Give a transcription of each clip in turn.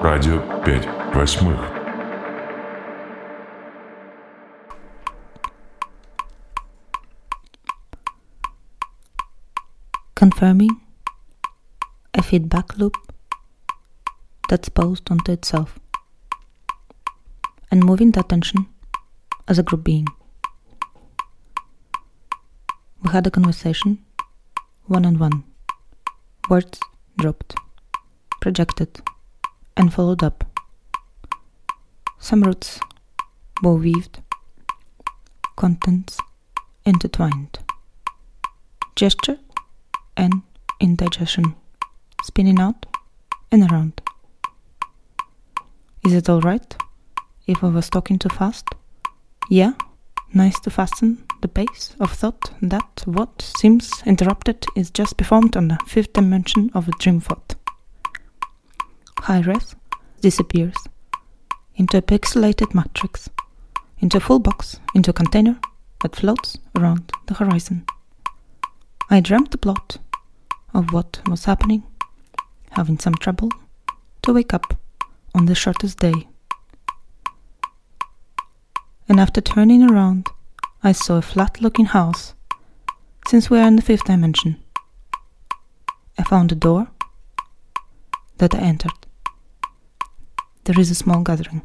Радио 5/8. Confirming a feedback loop that's posed onto itself, and moving the attention as a group being. We had a conversation, one-on-one. Words dropped, projected, and followed up. Some roots were weaved, contents intertwined. Gesture and indigestion, spinning out and around. Is it alright if I was talking too fast? Yeah, nice to fasten the pace of thought that what seems interrupted is just performed on the fifth dimension of a dream thought. High-res disappears into a pixelated matrix, into a full box, into a container that floats around the horizon. I dreamt the plot of what was happening, having some trouble to wake up on the shortest day. And after turning around, I saw a flat-looking house, since we are in the fifth dimension. I found a door that I entered. There is a small gathering.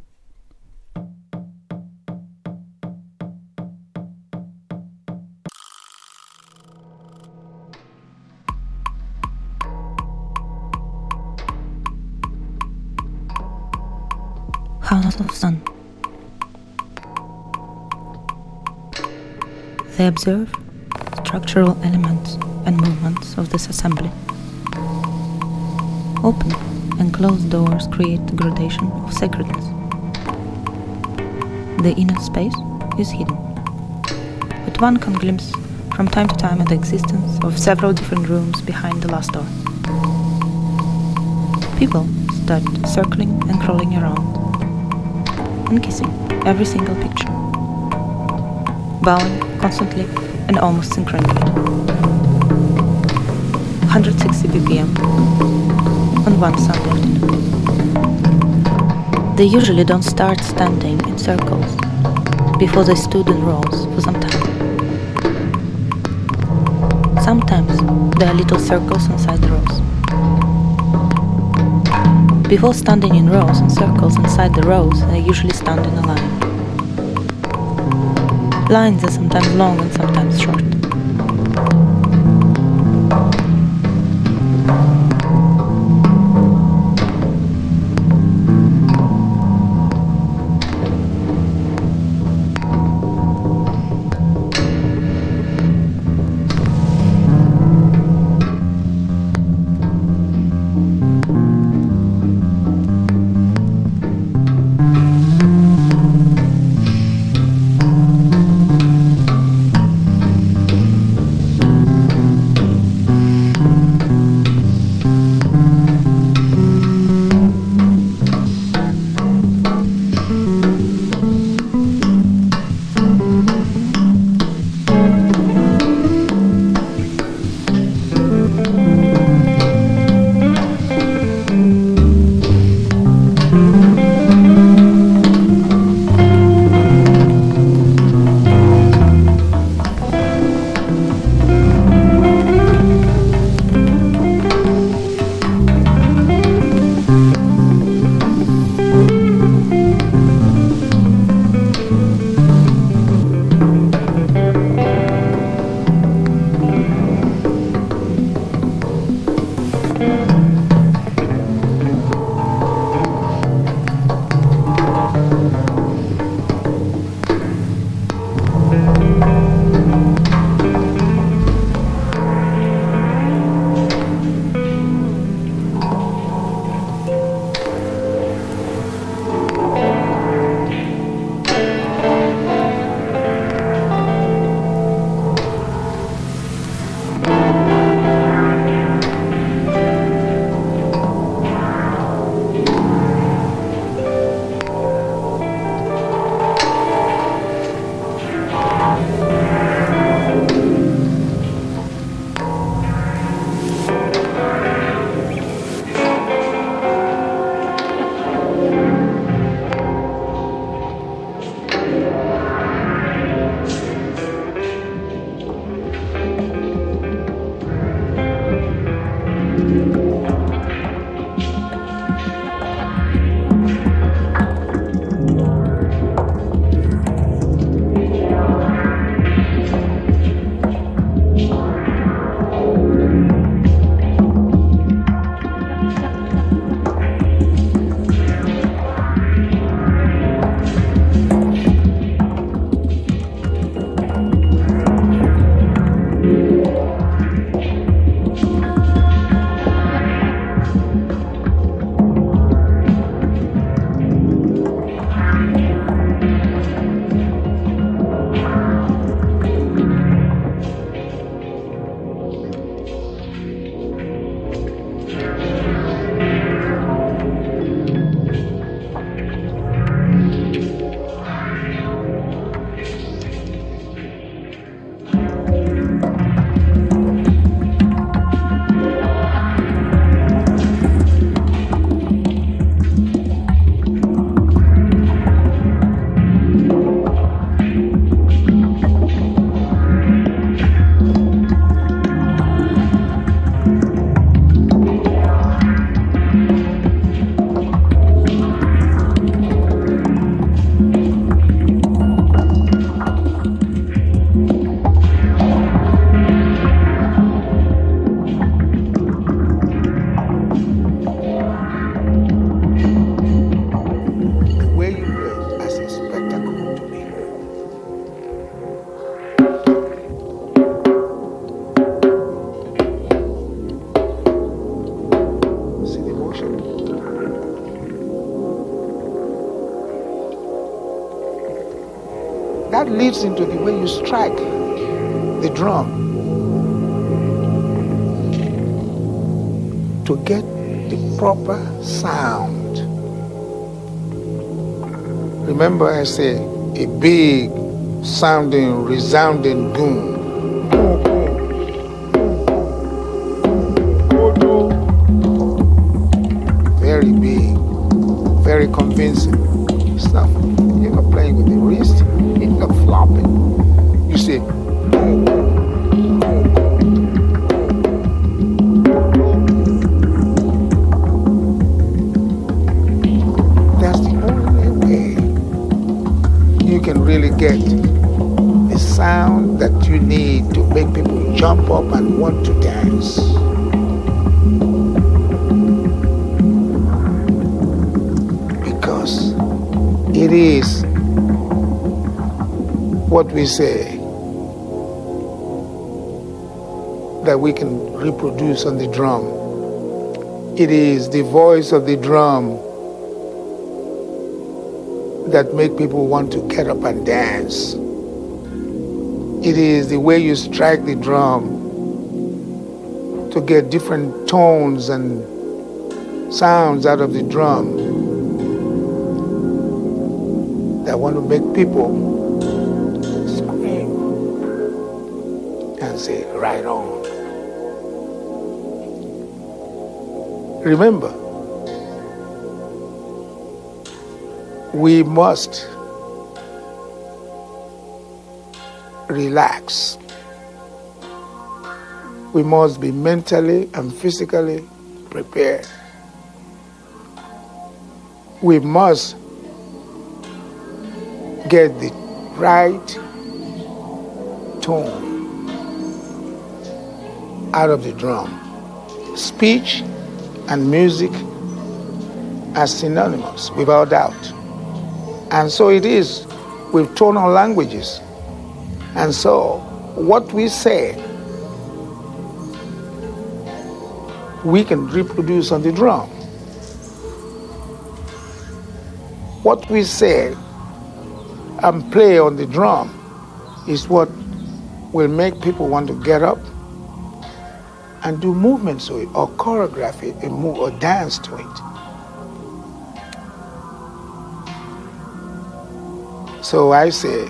House of Sun. They observe structural elements and movements of this assembly. Open and closed doors create a gradation of sacredness. The inner space is hidden, but one can glimpse from time to time at the existence of several different rooms behind the last door. People start circling and crawling around, and kissing every single picture, bowing constantly and almost synchronically. 160 BPM on one Sunday afternoon. They usually don't start standing in circles before they stood in rows for some time. Sometimes there are little circles inside the rows. Before standing in rows and circles inside the rows, they usually stand in a line. Lines are sometimes long and sometimes short. that leads into the way you strike the drum to get the proper sound. Remember, I say a big sounding, resounding boom. Very big, very convincing. It's not, you're not playing with the wrist, you're not flopping. You say, that's the only way you can really get the sound that you need to make people jump up and want to dance. Because it is what we say that we can reproduce on the drum. It is the voice of the drum that make people want to get up and dance. It is the way you strike the drum to get different tones and sounds out of the drum that want to make people scream and say, right on. Remember, we must relax. We must be mentally and physically prepared. We must get the right tone out of the drum. Speech and music are synonymous, without doubt. And so it is with tonal languages. And so what we say, we can reproduce on the drum. What we say and play on the drum is what will make people want to get up and do movements to it, or choreograph it, and move or dance to it. So I say,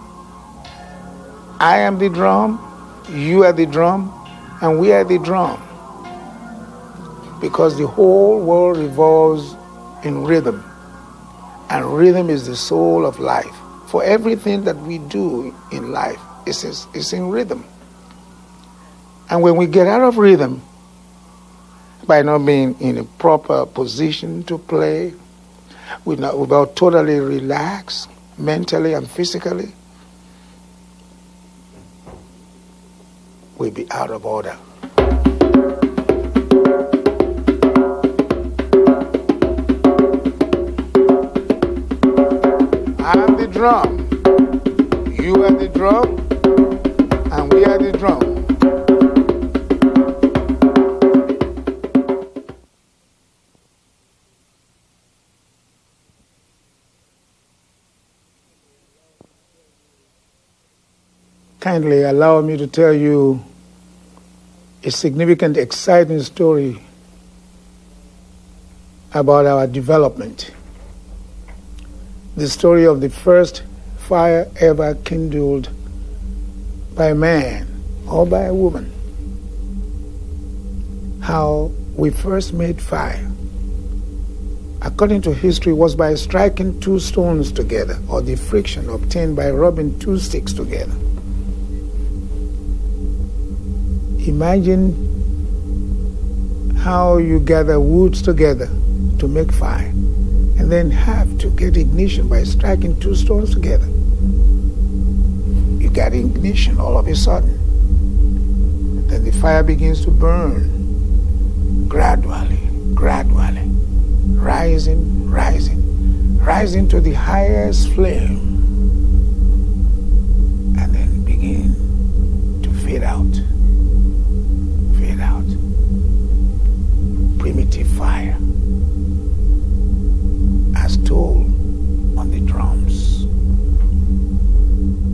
I am the drum, you are the drum, and we are the drum. Because the whole world revolves in rhythm. And rhythm is the soul of life. For everything that we do in life is in rhythm. And when we get out of rhythm, by not being in a proper position to play, without totally relaxed, mentally and physically, we'll be out of order. I'm the drum, you are the drum, and we are the drum. Kindly allow me to tell you a significant, exciting story about our development. The story of the first fire ever kindled by a man or by a woman. How we first made fire, according to history, was by striking two stones together, or the friction obtained by rubbing two sticks together. Imagine how you gather woods together to make fire, and then have to get ignition by striking two stones together. You got ignition all of a sudden. Then the fire begins to burn gradually, rising to the highest flame, and then begin to fade out. Primitive fire, as told on the drums.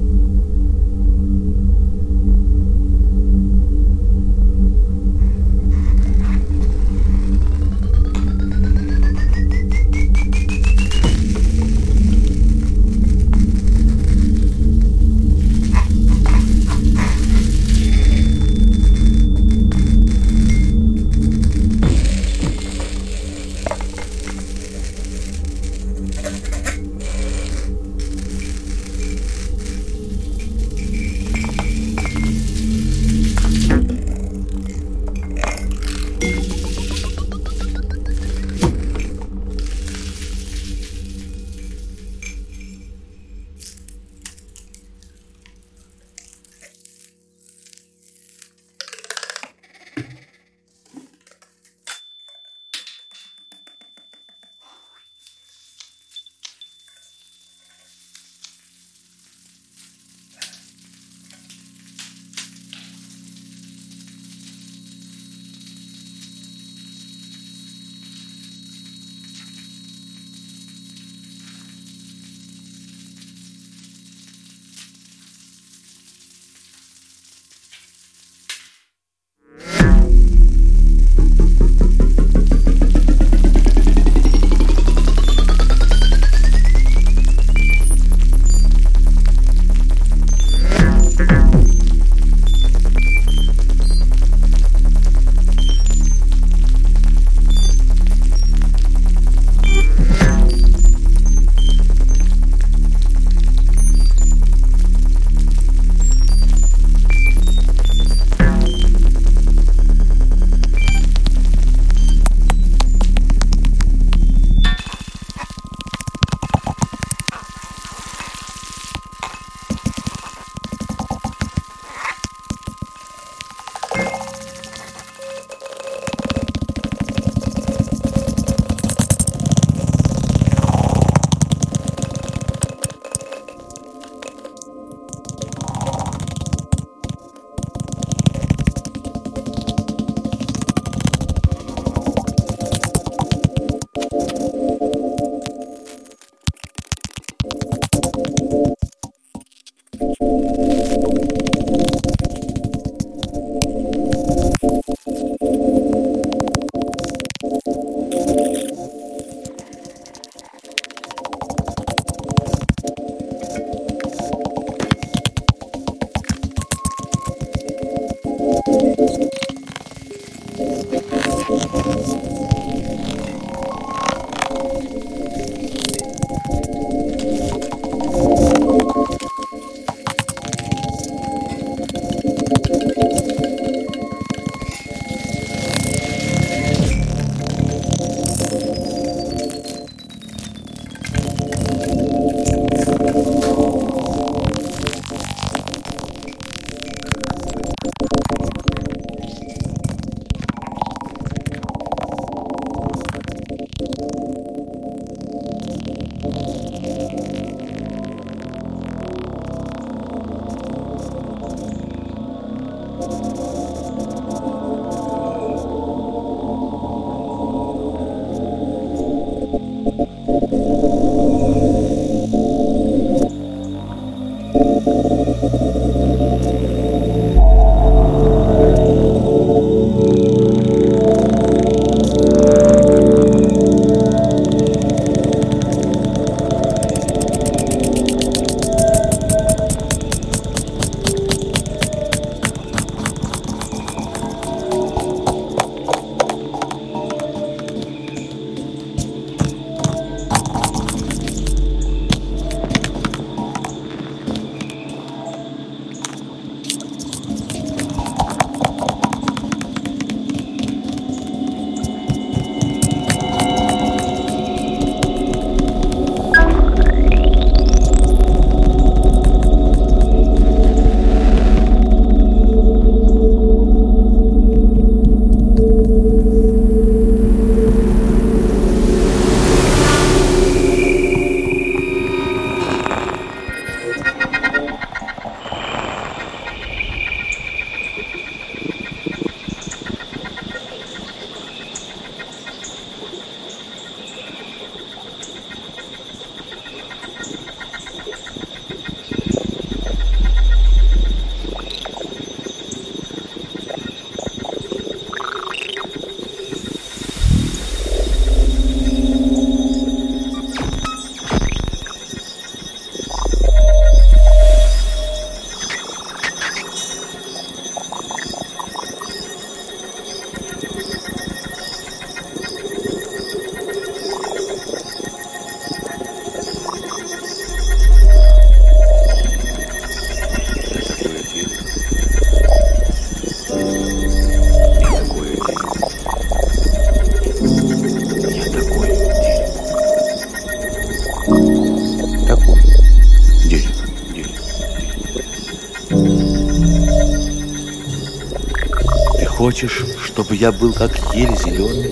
хочешь, чтобы я был как ель зеленый,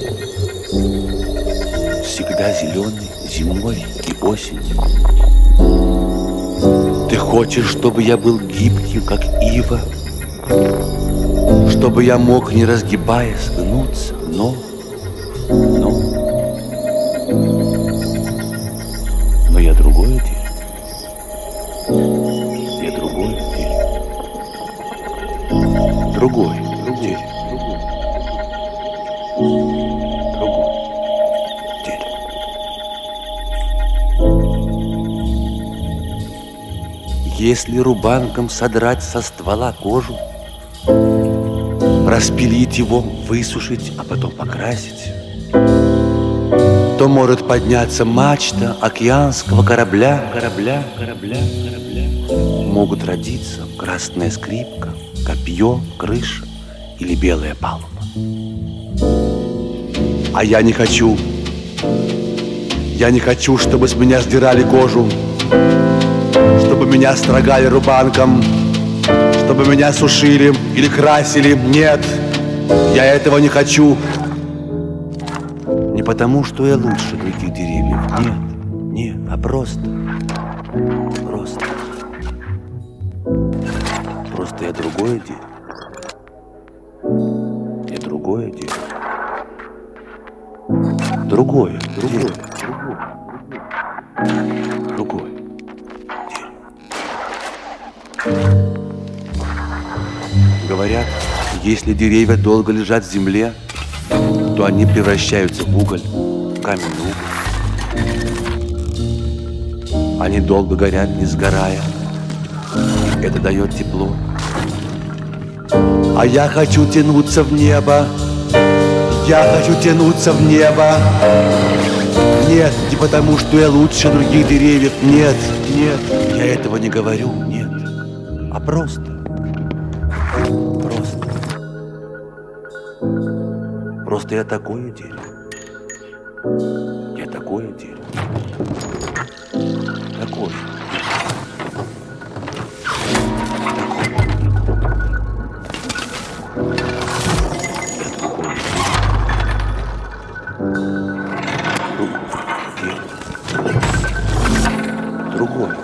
всегда зеленый зимой и осенью? Ты хочешь, чтобы я был гибким, как ива, чтобы я мог, не разгибаясь, гнуться, но я другое дерево. Я другое дерево. Другое дерево. Другое дерево. Если рубанком содрать со ствола кожу, распилить его, высушить, а потом покрасить, то может подняться мачта океанского корабля. Могут родиться красная скрипка, копье, крыша или белая палуба. А я не хочу, чтобы с меня сдирали кожу, чтобы меня строгали рубанком, чтобы меня сушили или красили. Нет, я этого не хочу. Не потому, что я лучше других деревьев. Нет, а просто я другое дерево. Я другое дерево. Другое дерево. Говорят, если деревья долго лежат в земле, то они превращаются в уголь, в каменный уголь. Они долго горят, не сгорая. Это дает тепло. А я хочу тянуться в небо. Нет, не потому, что я лучше других деревьев. Нет, я этого не говорю, нет. А просто. Просто я такое дерево. Я такое дерево. Такое. Другое.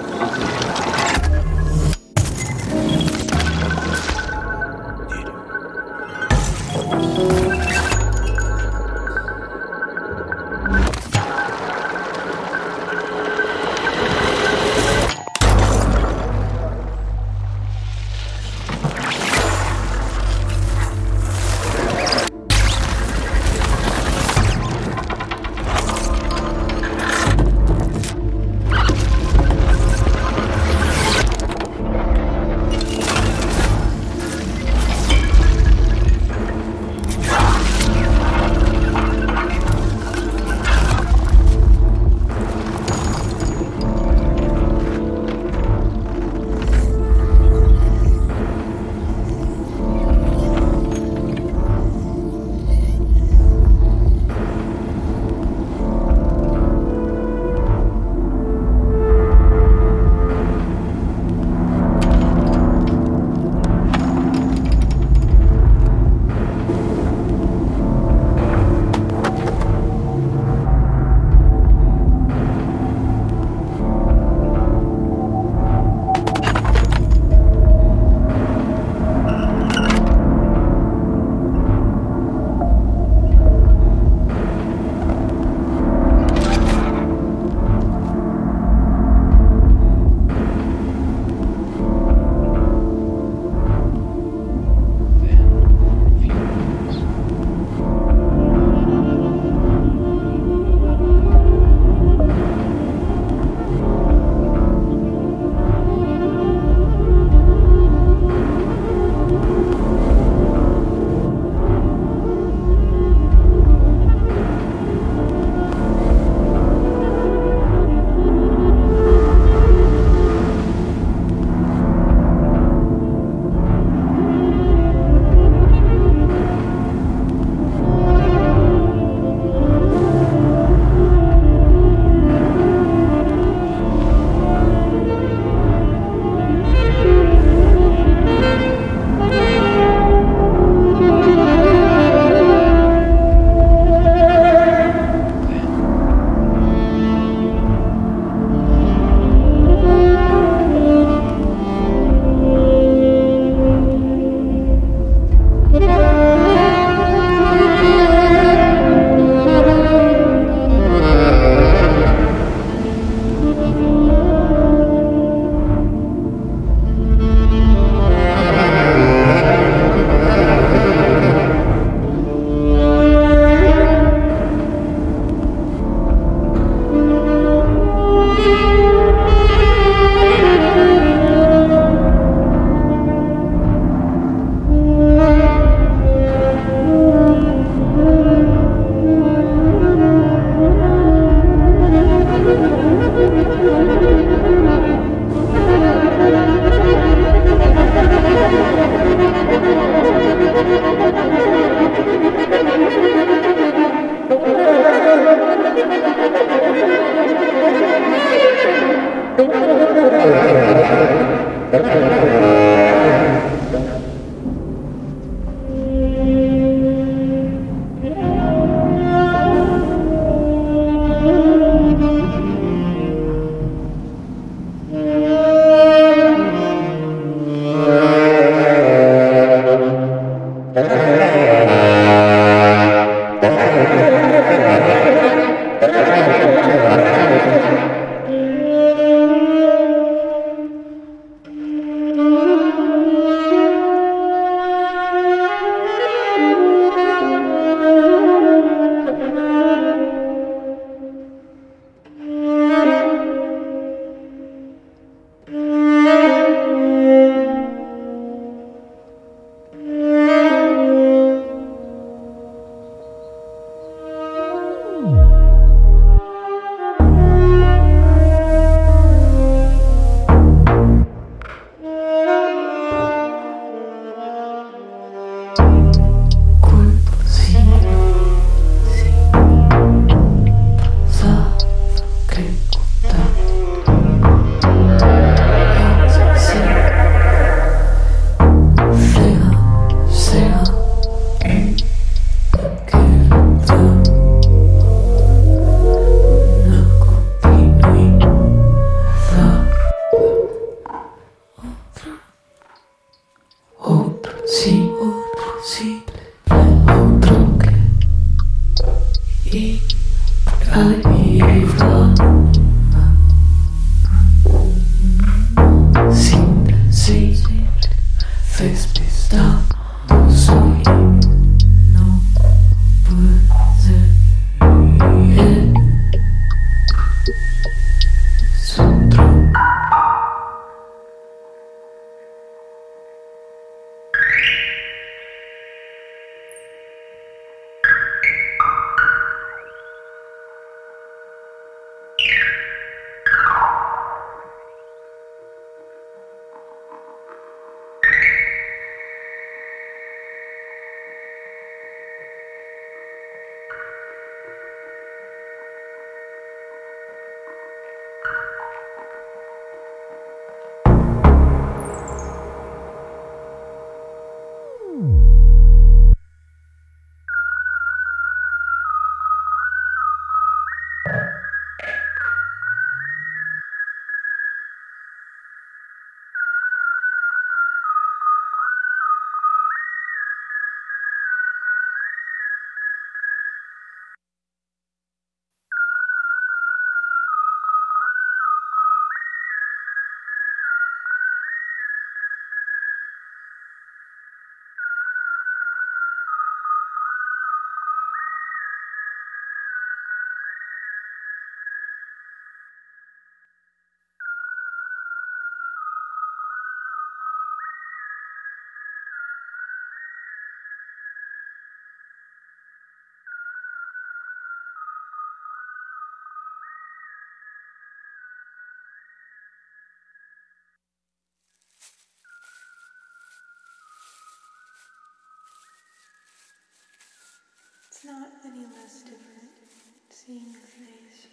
It's not any less different seeing your face.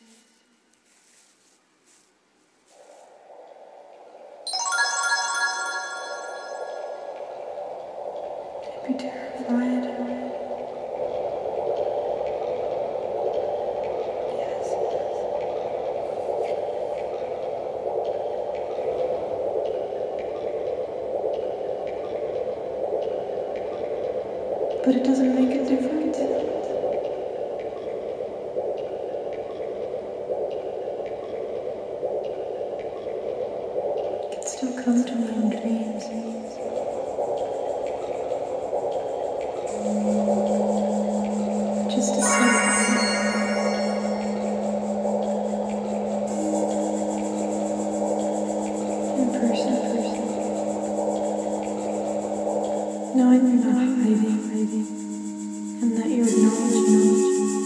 I'd be terrified. Yes. But it doesn't make a difference. Still come to me in dreams. Just to see in person. Knowing you're not hiding, and that you're acknowledging.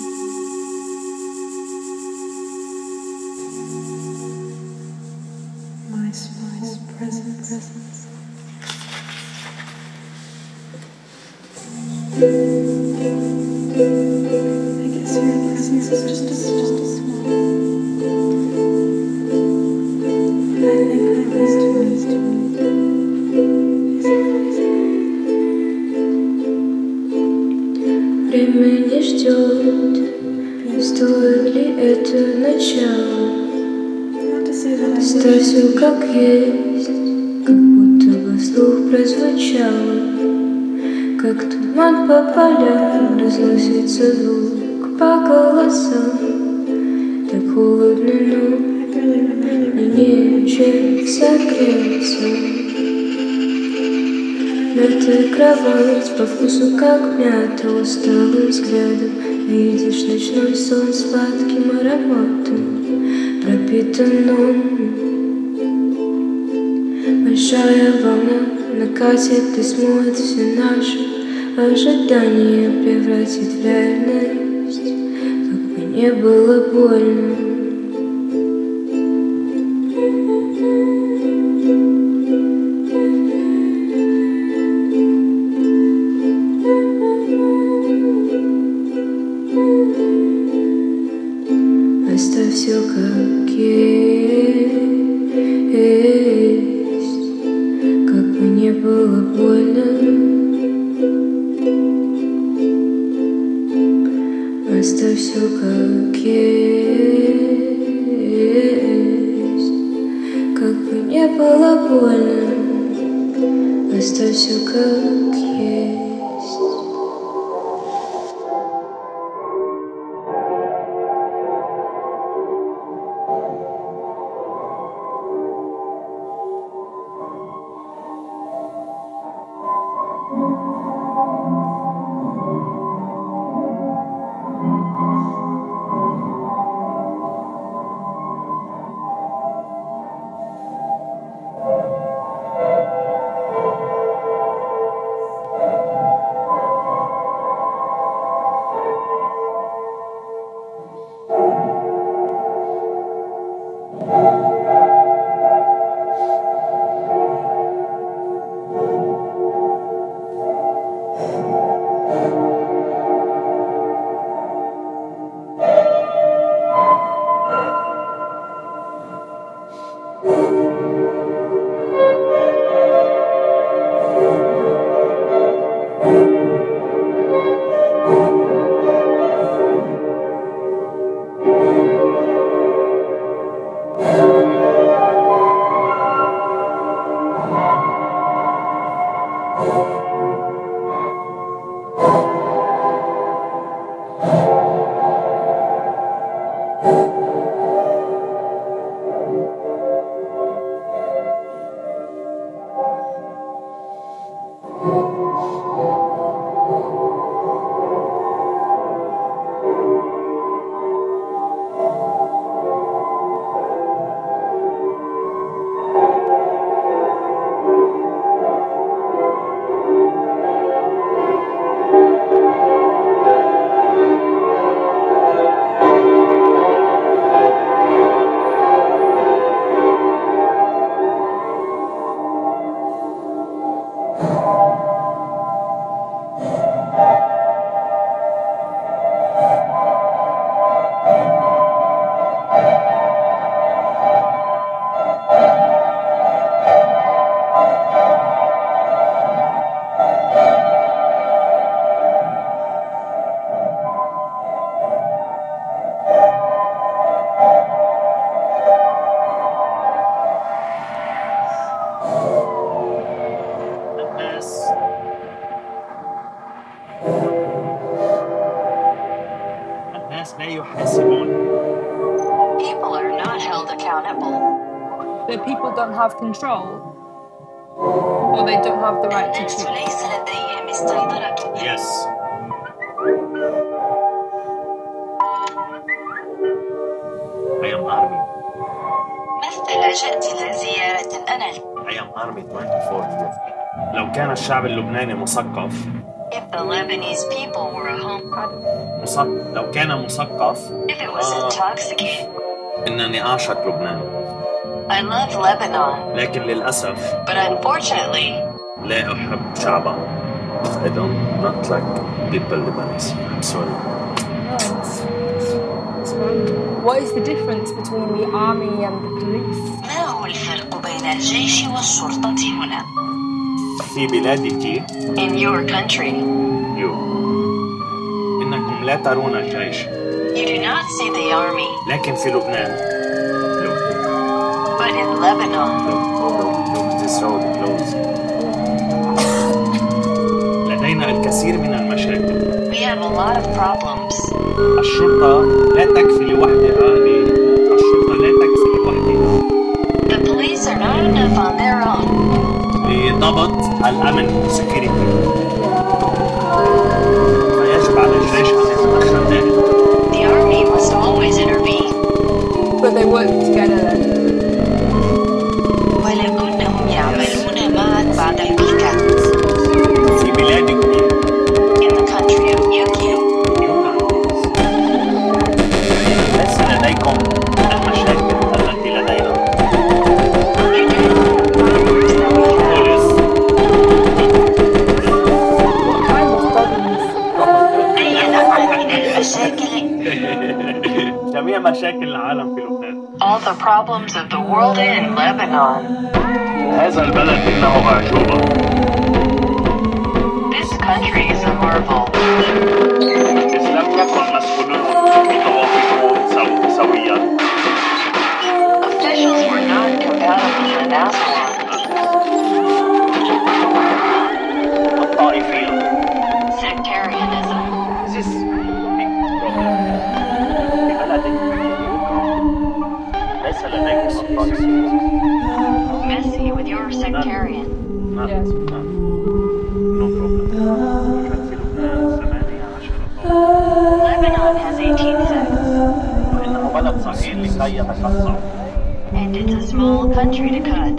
My small presence. I guess your presence is just a small. I think I was too. Время не ждет, стоит ли это начало? Оставь все как есть, как будто бы вслух прозвучало. Как туман по полям разносится звук по голосам. Так холодно, но мне нечем согреться. Мятая кровать по вкусу как мята, усталым взглядом видишь ночной сон сладким ароматом пропитанным. Большая волна накатит и смоет все наши ожидания, превратит в реальность, как бы не было больно. Оставь все как есть, как бы не было больно. Оставь все как есть, как бы не было больно. Оставь все как есть. People are not held accountable. That people don't have control, or they don't have the right to الناس choose. ليس لديهم السيطرة. Yes. I am army. مثل جئت لزيارة أنا. I am army 24 years. لو كان الشعب اللبناني مثقف. If the Lebanese people were a home. لو كان مثقف. If it was intoxicated. إنني أعشق لبنان. I love Lebanon. لكن للأسف. But unfortunately. لا أحب شعبها. I don't not like people Lebanese. I'm sorry. What is the difference between the army and the police? ما هو الفرق بين الجيش والشرطة هنا؟ في بلادك. In your country. You. إنكم لا ترون الجيش. You do not see the army. لكن في لبنان. Look. But in Lebanon. Look, this road closed. لدينا الكثير من المشاكل. We have a lot of problems. الشرطة لا تكفي لوحدها الأمن security. فيجب على الجيش أن يتدخل دائما. The army must always intervene. But they work together then. ولكنهم يعملون معا بعد البيكا. في بلادك In the country of Yukio. ليس لديكم المشاكل التي لدينا. أي نوع من المشاكل؟ جميع مشاكل العالم في لبنان. All the problems of the world in Lebanon. هذا البلد إنه أعجوبة. This country is a marvel. إذ لم يكن مسؤولون متوافقون سويا. Officials were not compatible in Aswan. الطائفية. Sectarianism. This is big problem. في بلدك ليس لديكم الطائفية. Messy with your sectarian. Yes. No problem. في لبنان 18 Lebanon has 18 sects. وإنه بلد صغير لكي يتقسم. And it's a small country to cut.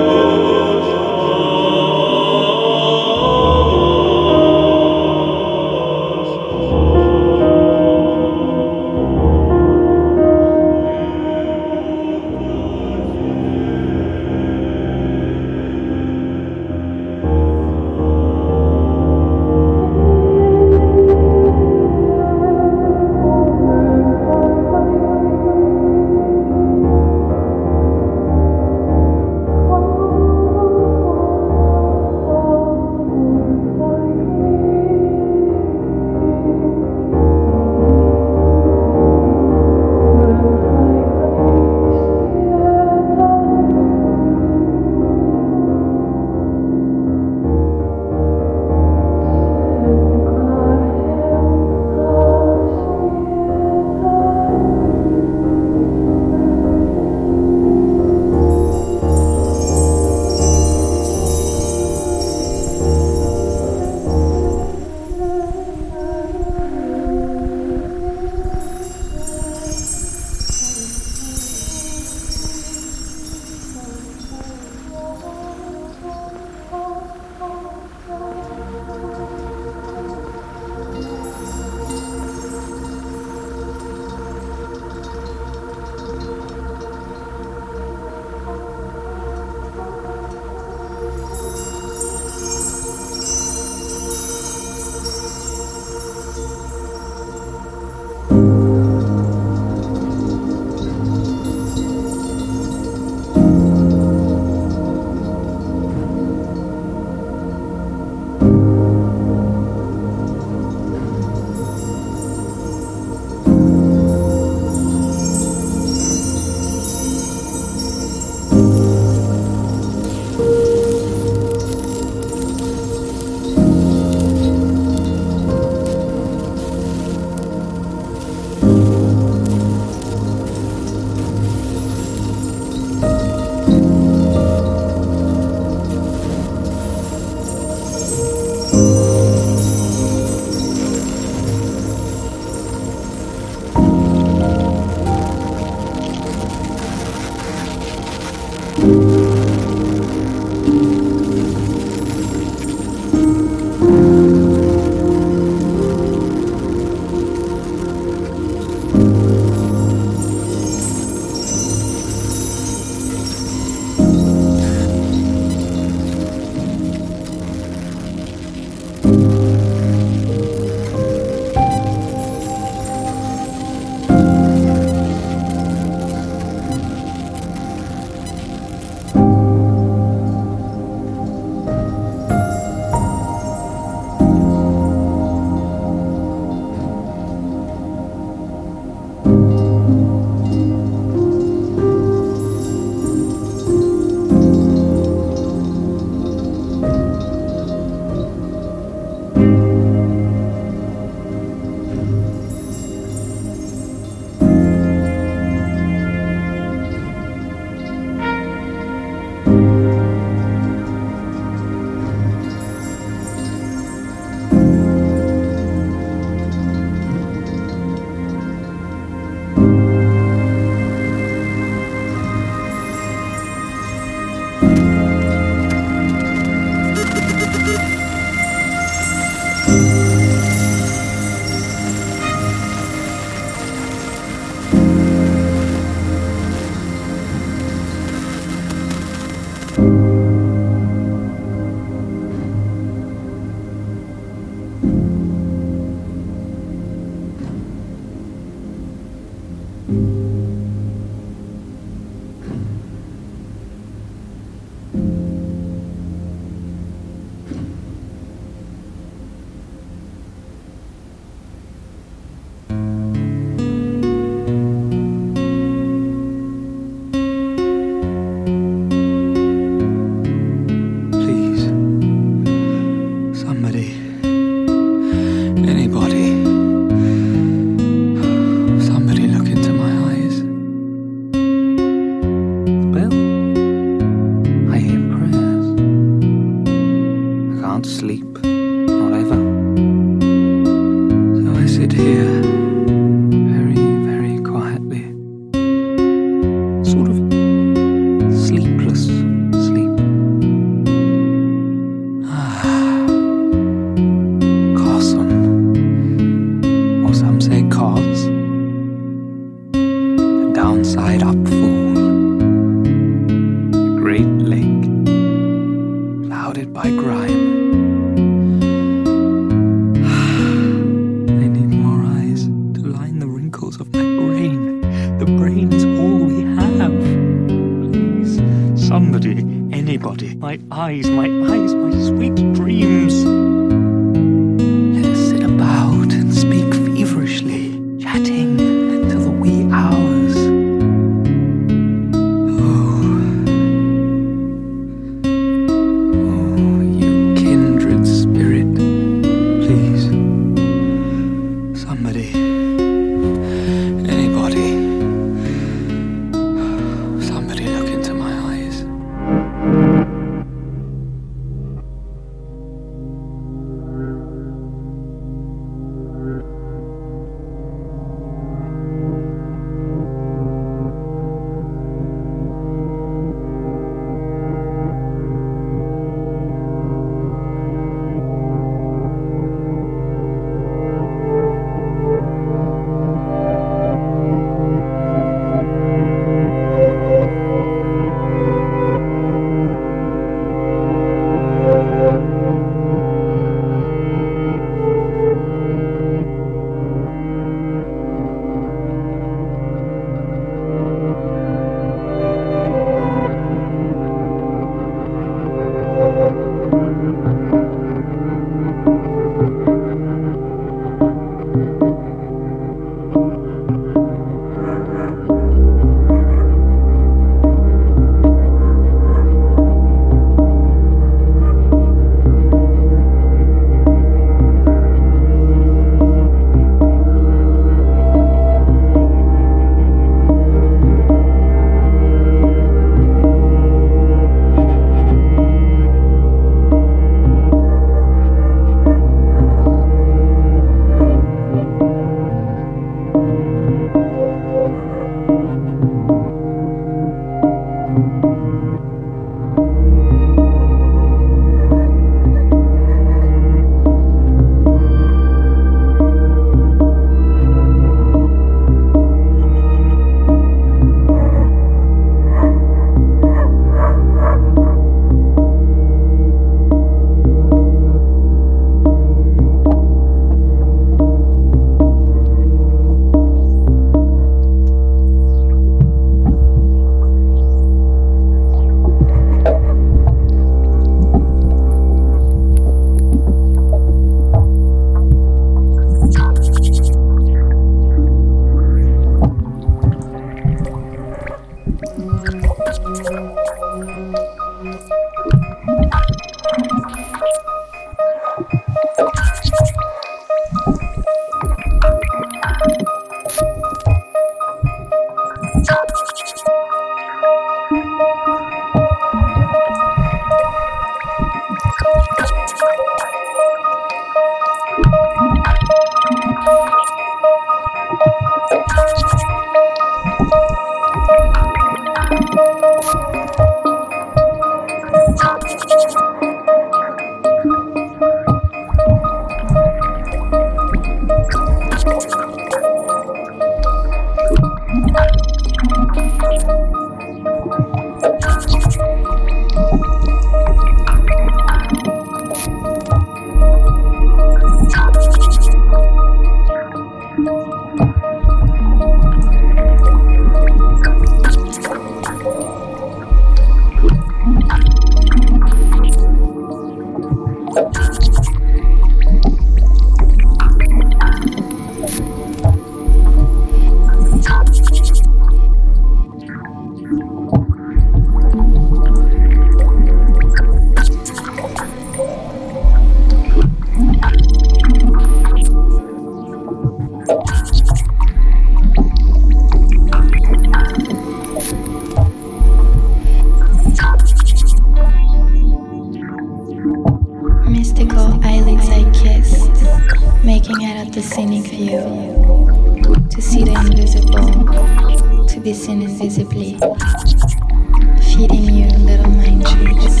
Mystical eyelids I kissed, making out at the scenic view, to see the invisible, to be seen invisibly, feeding you little mind trees.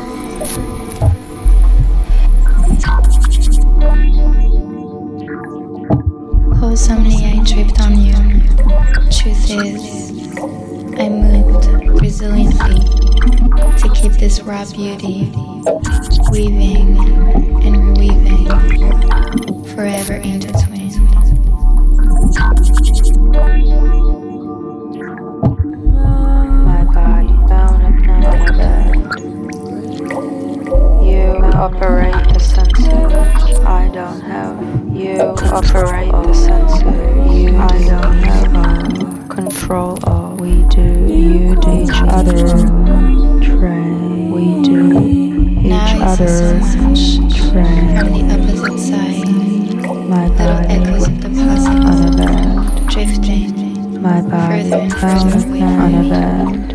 Wholesomely I tripped on you. Truth is, I moved resiliently to keep this raw beauty, weaving and reweaving, forever intertwined. My body down at night on a bed. You operate the senses, I don't have. You operate the senses, I don't have control of. We do, you do each other. Train, we do each other. Train from the opposite side. my Little body echoes of the past on a bed. drifting My body further and down further away on from a me. bed.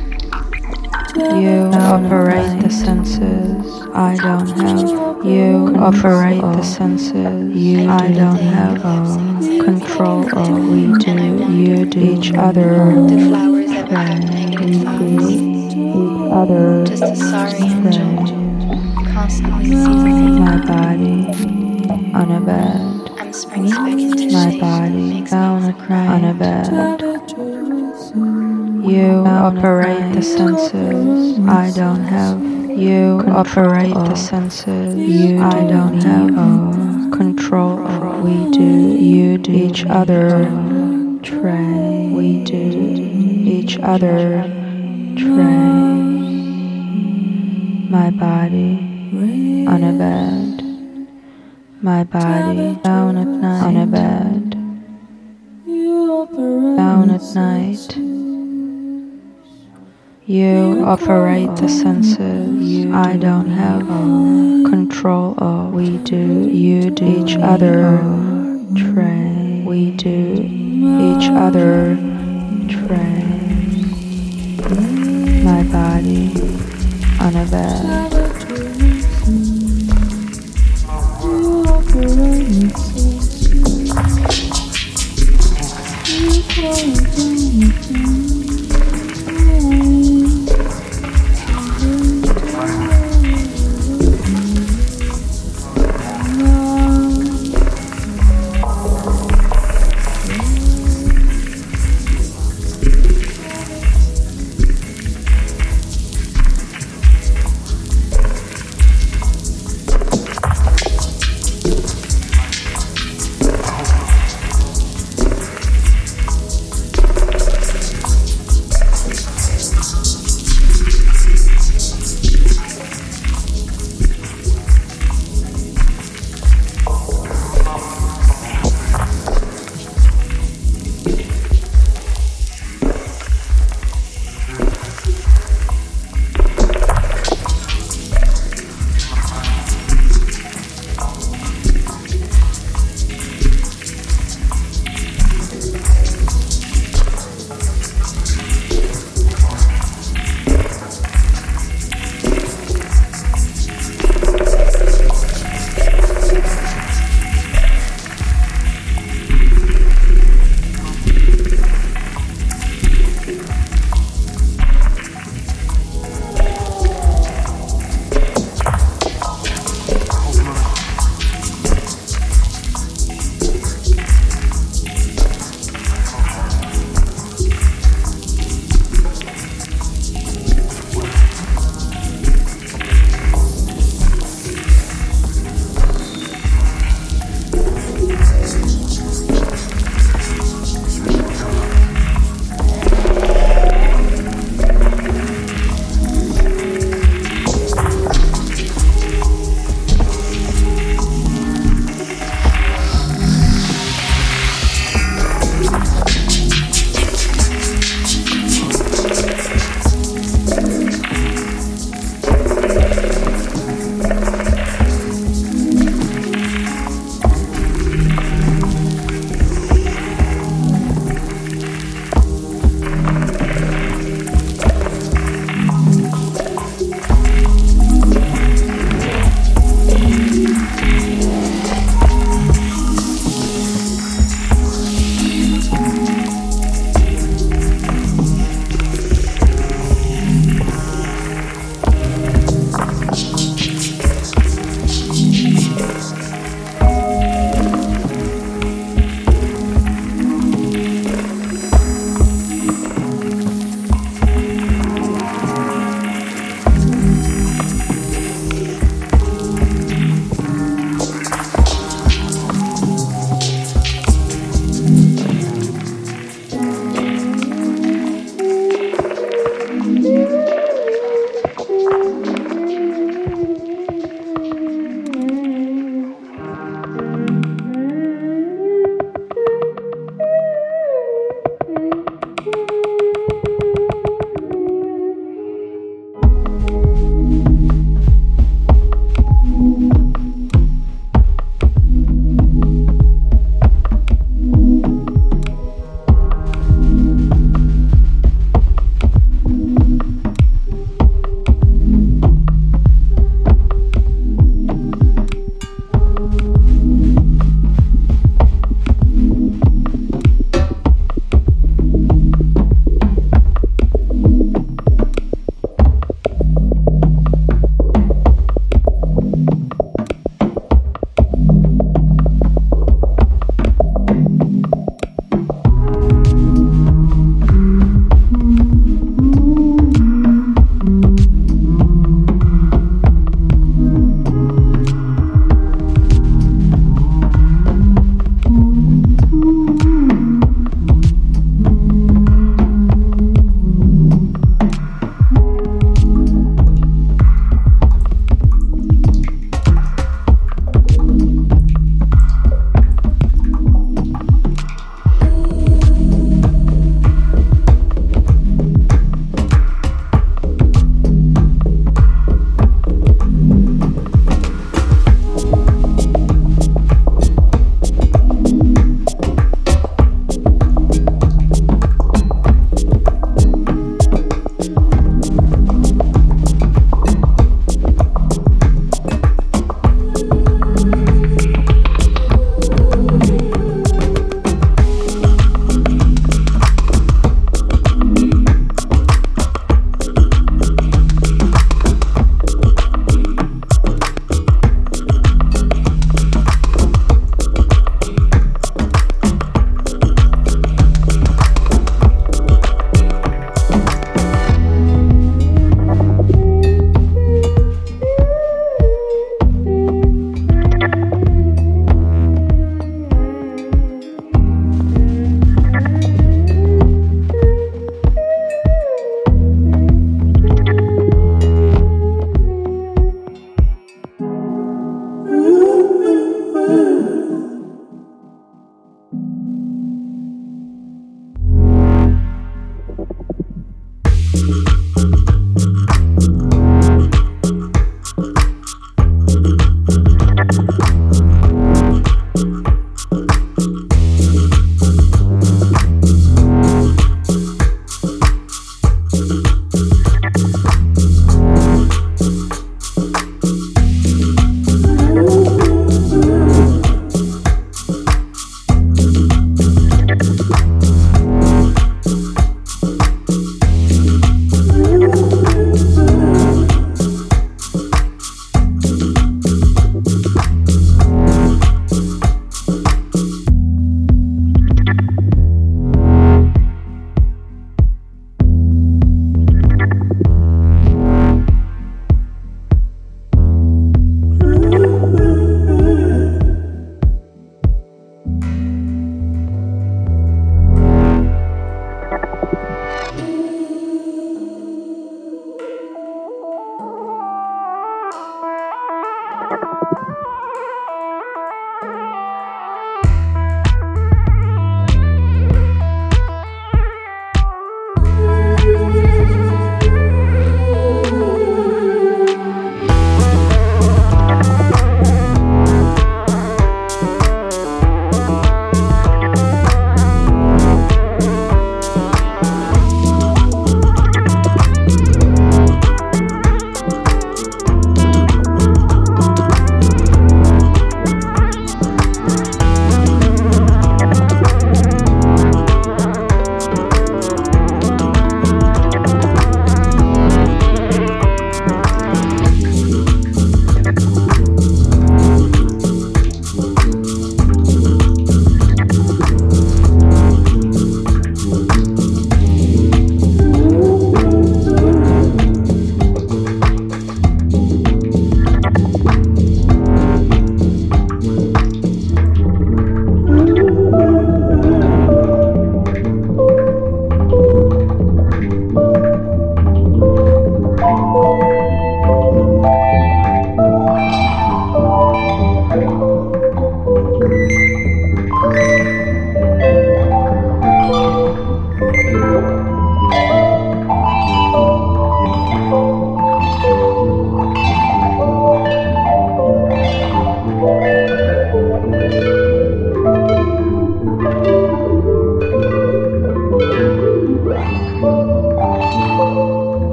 You operate the senses, I don't have. You operate the senses, I don't have control of. We do, you do each other. The flowers ever have negative thoughts, Each other. just a sorry angel, constantly seasoning. My body on a bed. I'm springing back into My shape, body makes down me on a bed. You operate the senses, I don't have. You operate the senses, I don't have control of. We do, you do each other. Train, we do each other. Train. My body on a bed. My body down at night on a bed. Down at night. You operate the senses, I don't have control of. We do, you do each other. Train, we do each other. Train. My body on a bed.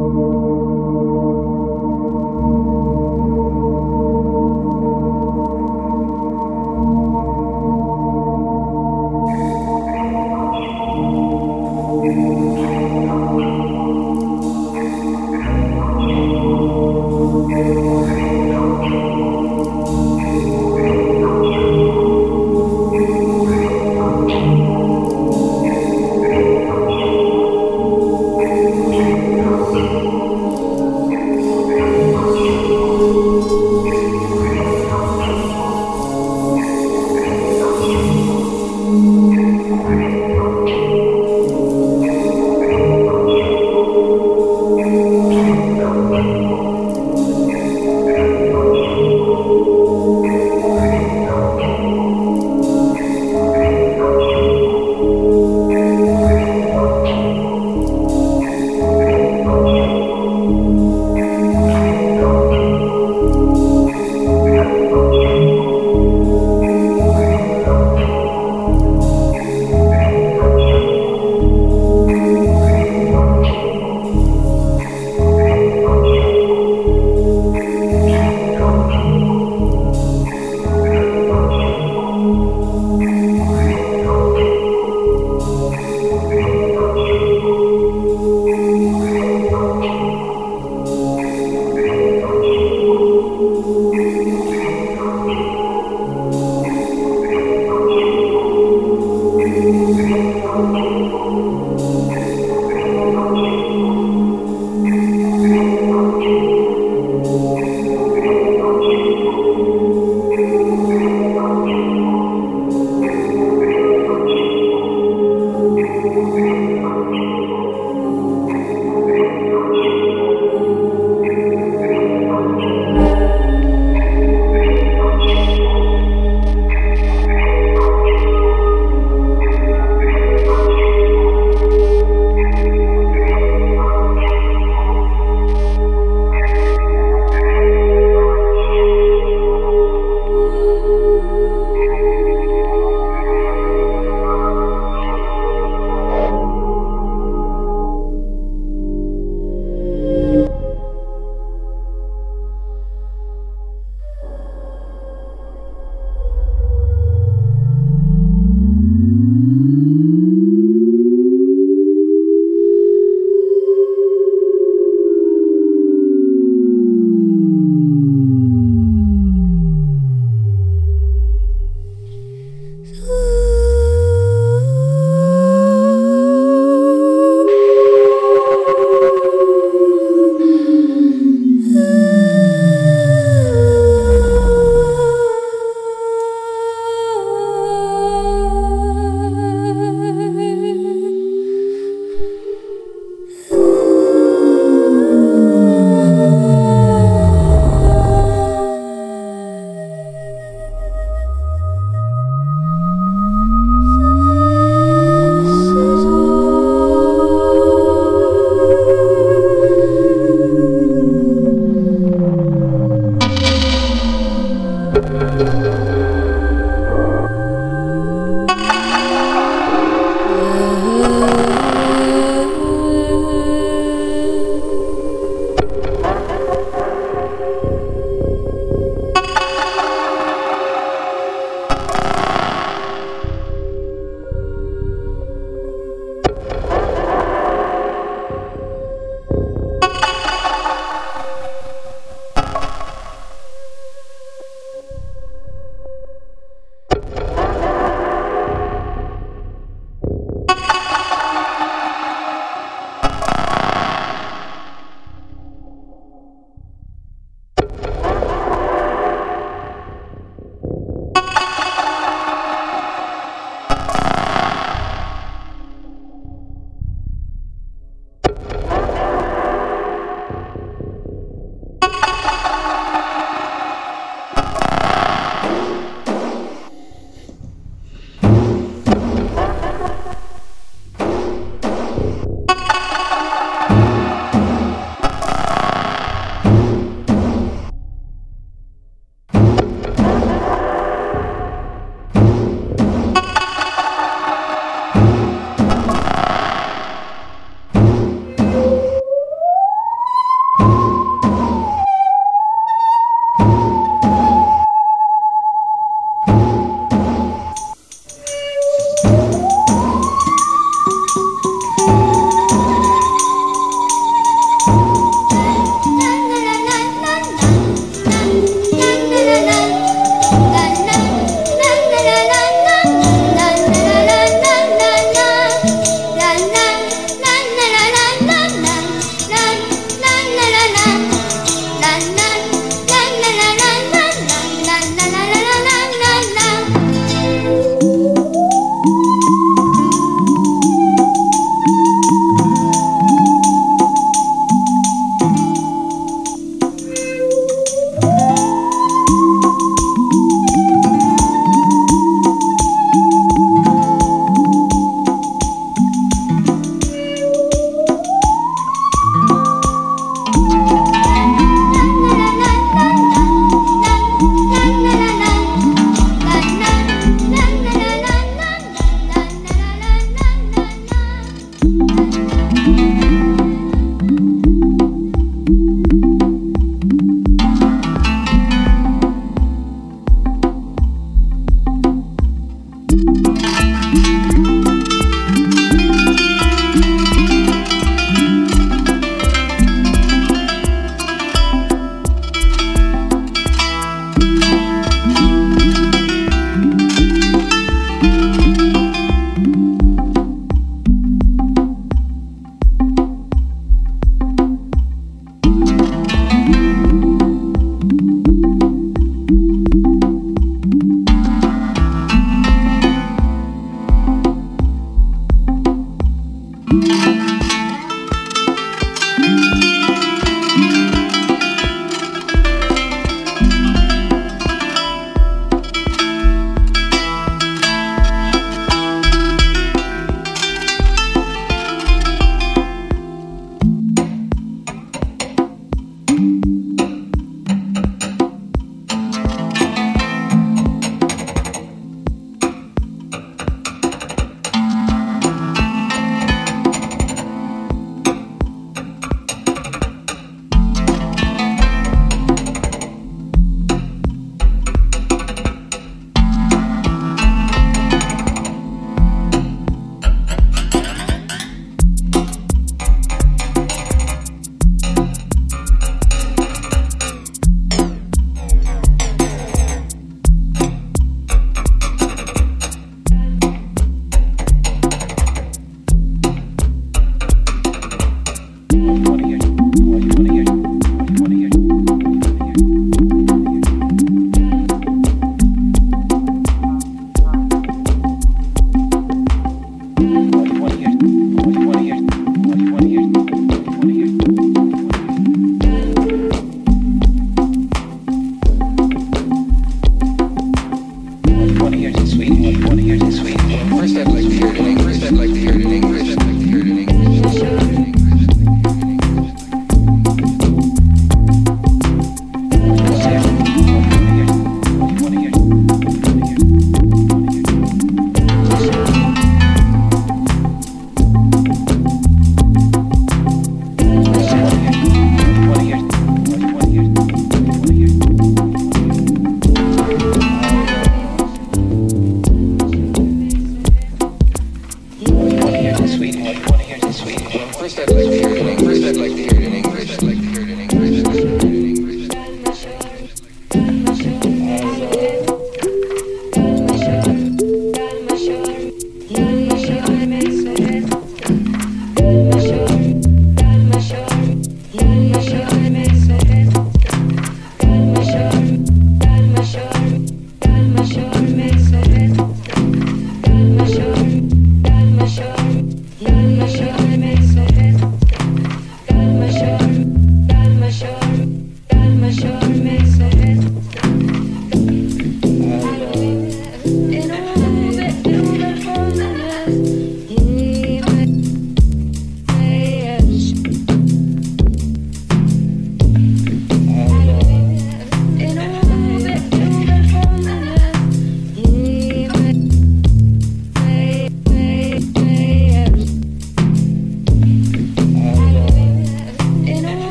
you.